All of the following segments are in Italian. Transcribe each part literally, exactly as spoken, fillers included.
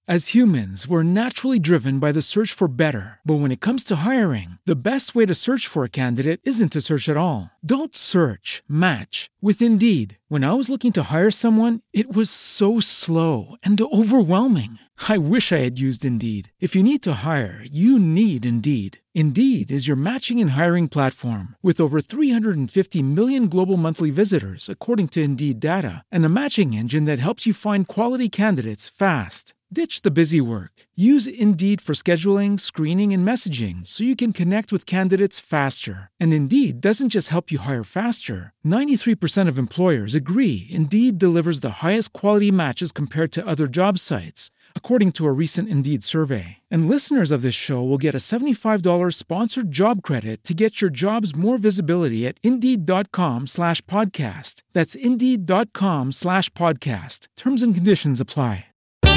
As humans, we're naturally driven by the search for better. But when it comes to hiring, the best way to search for a candidate isn't to search at all. Don't search, match with Indeed. When I was looking to hire someone, it was so slow and overwhelming. I wish I had used Indeed. If you need to hire, you need Indeed. Indeed is your matching and hiring platform with over three hundred fifty million global monthly visitors, according to Indeed data, and a matching engine that helps you find quality candidates fast. Ditch the busy work. Use Indeed for scheduling, screening, and messaging so you can connect with candidates faster. And Indeed doesn't just help you hire faster. ninety-three percent of employers agree Indeed delivers the highest quality matches compared to other job sites, according to a recent Indeed survey. And listeners of this show will get a seventy-five dollars sponsored job credit to get your jobs more visibility at Indeed.com slash podcast. That's Indeed.com slash podcast. Terms and conditions apply.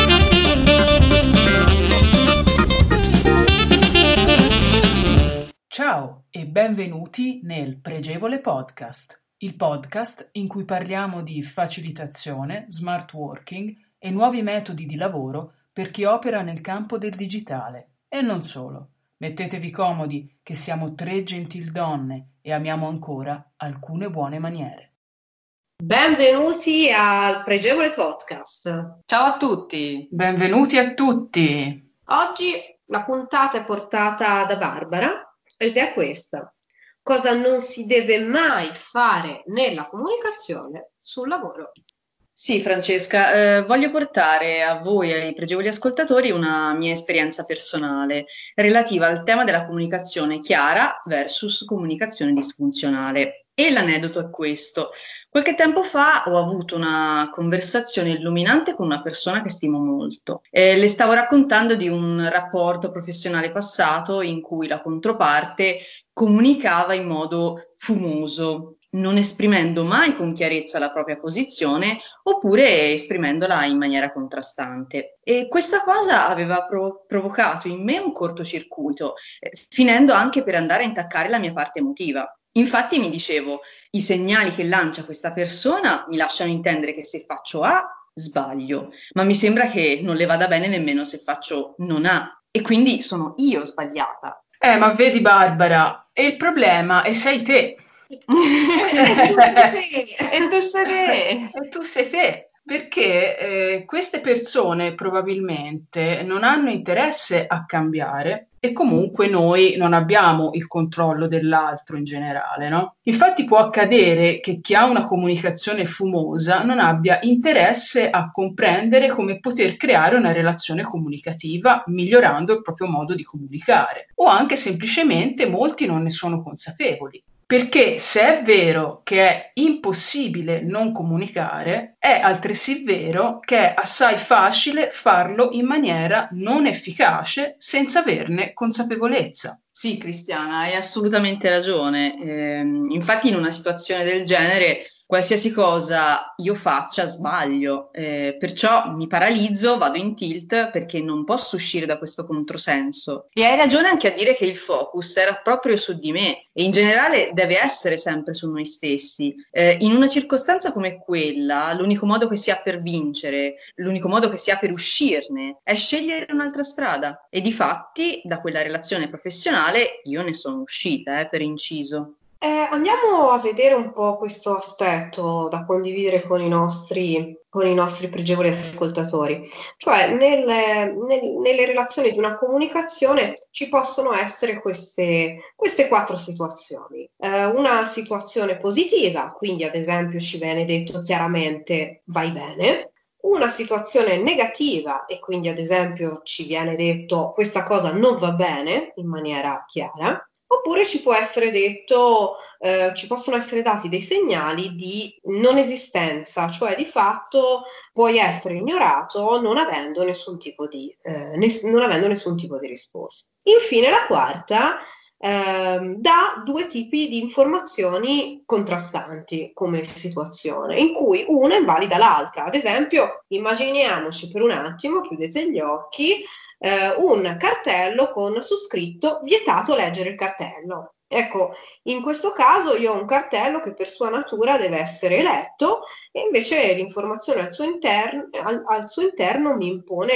Ciao e benvenuti nel Pregevole Podcast, il podcast in cui parliamo di facilitazione, smart working e nuovi metodi di lavoro per chi opera nel campo del digitale. E non solo. Mettetevi comodi che siamo tre gentildonne e amiamo ancora alcune buone maniere. Benvenuti al Pregevole Podcast. Ciao a tutti. Benvenuti a tutti. Oggi la puntata è portata da Barbara ed è questa: cosa non si deve mai fare nella comunicazione sul lavoro. Sì, Francesca, eh, voglio portare a voi e ai pregevoli ascoltatori una mia esperienza personale relativa al tema della comunicazione chiara versus comunicazione disfunzionale. E l'aneddoto è questo. Qualche tempo fa ho avuto una conversazione illuminante con una persona che stimo molto. Eh, le stavo raccontando di un rapporto professionale passato in cui la controparte comunicava in modo fumoso, non esprimendo mai con chiarezza la propria posizione oppure esprimendola in maniera contrastante. E questa cosa aveva pro- provocato in me un cortocircuito, eh, finendo anche per andare a intaccare la mia parte emotiva. Infatti mi dicevo, i segnali che lancia questa persona mi lasciano intendere che se faccio A, sbaglio, ma mi sembra che non le vada bene nemmeno se faccio non A, e quindi sono io sbagliata. Eh, ma vedi Barbara, e il problema è sei te. E tu sei te. E tu sei te. E tu sei te. Perché eh, queste persone probabilmente non hanno interesse a cambiare e comunque noi non abbiamo il controllo dell'altro in generale, no? Infatti può accadere che chi ha una comunicazione fumosa non abbia interesse a comprendere come poter creare una relazione comunicativa migliorando il proprio modo di comunicare, o anche semplicemente molti non ne sono consapevoli. Perché se è vero che è impossibile non comunicare, è altresì vero che è assai facile farlo in maniera non efficace senza averne consapevolezza. Sì, Cristiana, hai assolutamente ragione. Eh, infatti in una situazione del genere qualsiasi cosa io faccia sbaglio, eh, perciò mi paralizzo, vado in tilt perché non posso uscire da questo controsenso. E hai ragione anche a dire che il focus era proprio su di me e in generale deve essere sempre su noi stessi. Eh, in una circostanza come quella, l'unico modo che si ha per vincere, l'unico modo che si ha per uscirne è scegliere un'altra strada. E difatti da quella relazione professionale io ne sono uscita, eh, per inciso. Eh, andiamo a vedere un po' questo aspetto da condividere con i nostri, con i nostri pregevoli ascoltatori. Cioè, nelle, nel- nelle relazioni di una comunicazione ci possono essere queste, queste quattro situazioni. Eh, una situazione positiva, quindi ad esempio ci viene detto chiaramente vai bene. Una situazione negativa e quindi ad esempio ci viene detto questa cosa non va bene in maniera chiara. Oppure ci può essere detto, eh, ci possono essere dati dei segnali di non esistenza, cioè di fatto puoi essere ignorato non avendo nessun tipo di, eh, ness- non avendo nessun tipo di risposta. Infine la quarta ehm, dà due tipi di informazioni contrastanti come situazione, in cui una invalida l'altra. Ad esempio, immaginiamoci per un attimo, chiudete gli occhi, eh, un cartello con su scritto vietato leggere il cartello. Ecco, in questo caso io ho un cartello che per sua natura deve essere letto e invece l'informazione al suo interno, al, al suo interno mi impone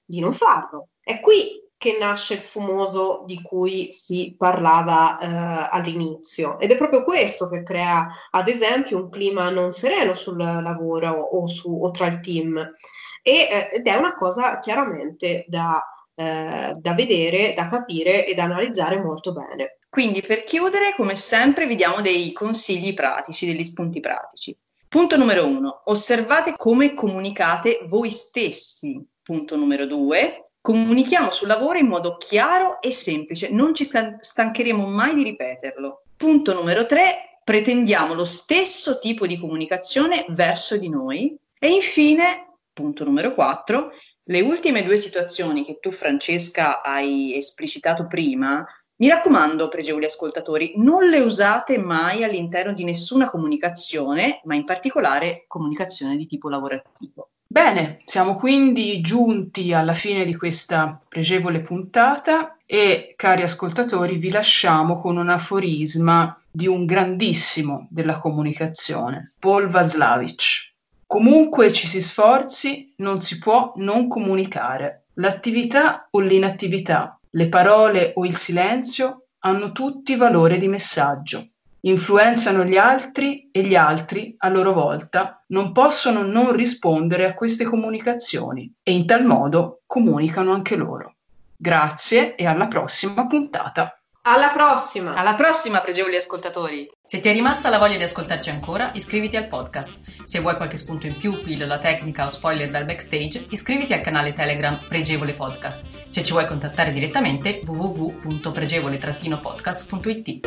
di non farlo. È qui che nasce il fumoso di cui si parlava eh, all'inizio, ed è proprio questo che crea, ad esempio, un clima non sereno sul lavoro o, su, o tra il team, e, eh, ed è una cosa chiaramente da, eh, da vedere, da capire e da analizzare molto bene. Quindi, per chiudere, come sempre, vi diamo dei consigli pratici, degli spunti pratici. Punto numero uno, osservate come comunicate voi stessi. Punto numero due, comunichiamo sul lavoro in modo chiaro e semplice, non ci stancheremo mai di ripeterlo. Punto numero tre, pretendiamo lo stesso tipo di comunicazione verso di noi. E infine, punto numero quattro, le ultime due situazioni che tu, Francesca, hai esplicitato prima, mi raccomando, pregevoli ascoltatori, non le usate mai all'interno di nessuna comunicazione, ma in particolare comunicazione di tipo lavorativo. Bene, siamo quindi giunti alla fine di questa pregevole puntata e, cari ascoltatori, vi lasciamo con un aforisma di un grandissimo della comunicazione, Paul Václavic. Comunque ci si sforzi, non si può non comunicare. L'attività o l'inattività, le parole o il silenzio hanno tutti valore di messaggio. Influenzano gli altri e gli altri, a loro volta, non possono non rispondere a queste comunicazioni e in tal modo comunicano anche loro. Grazie e alla prossima puntata. Alla prossima! Alla prossima, pregevoli ascoltatori! Se ti è rimasta la voglia di ascoltarci ancora, iscriviti al podcast. Se vuoi qualche spunto in più, pillola tecnica o spoiler dal backstage, iscriviti al canale Telegram Pregevole Podcast. Se ci vuoi contattare direttamente, w w w punto pregevole podcast punto i t.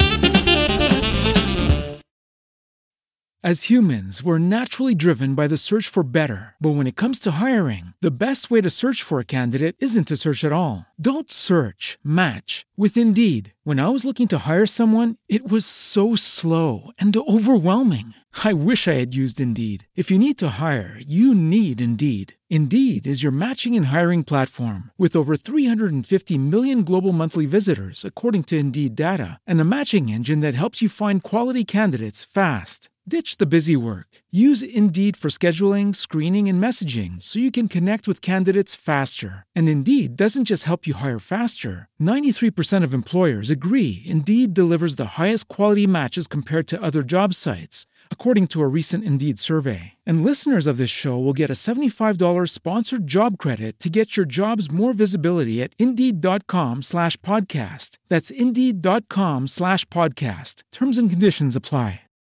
As humans, we're naturally driven by the search for better. But when it comes to hiring, the best way to search for a candidate isn't to search at all. Don't search, match with Indeed. When I was looking to hire someone, it was so slow and overwhelming. I wish I had used Indeed. If you need to hire, you need Indeed. Indeed is your matching and hiring platform with over three hundred fifty million global monthly visitors, according to Indeed data, and a matching engine that helps you find quality candidates fast. Ditch the busy work. Use Indeed for scheduling, screening, and messaging so you can connect with candidates faster. And Indeed doesn't just help you hire faster. ninety-three percent of employers agree Indeed delivers the highest quality matches compared to other job sites, according to a recent Indeed survey. And listeners of this show will get a seventy-five dollars sponsored job credit to get your jobs more visibility at Indeed.com slash podcast. That's Indeed.com slash podcast. Terms and conditions apply.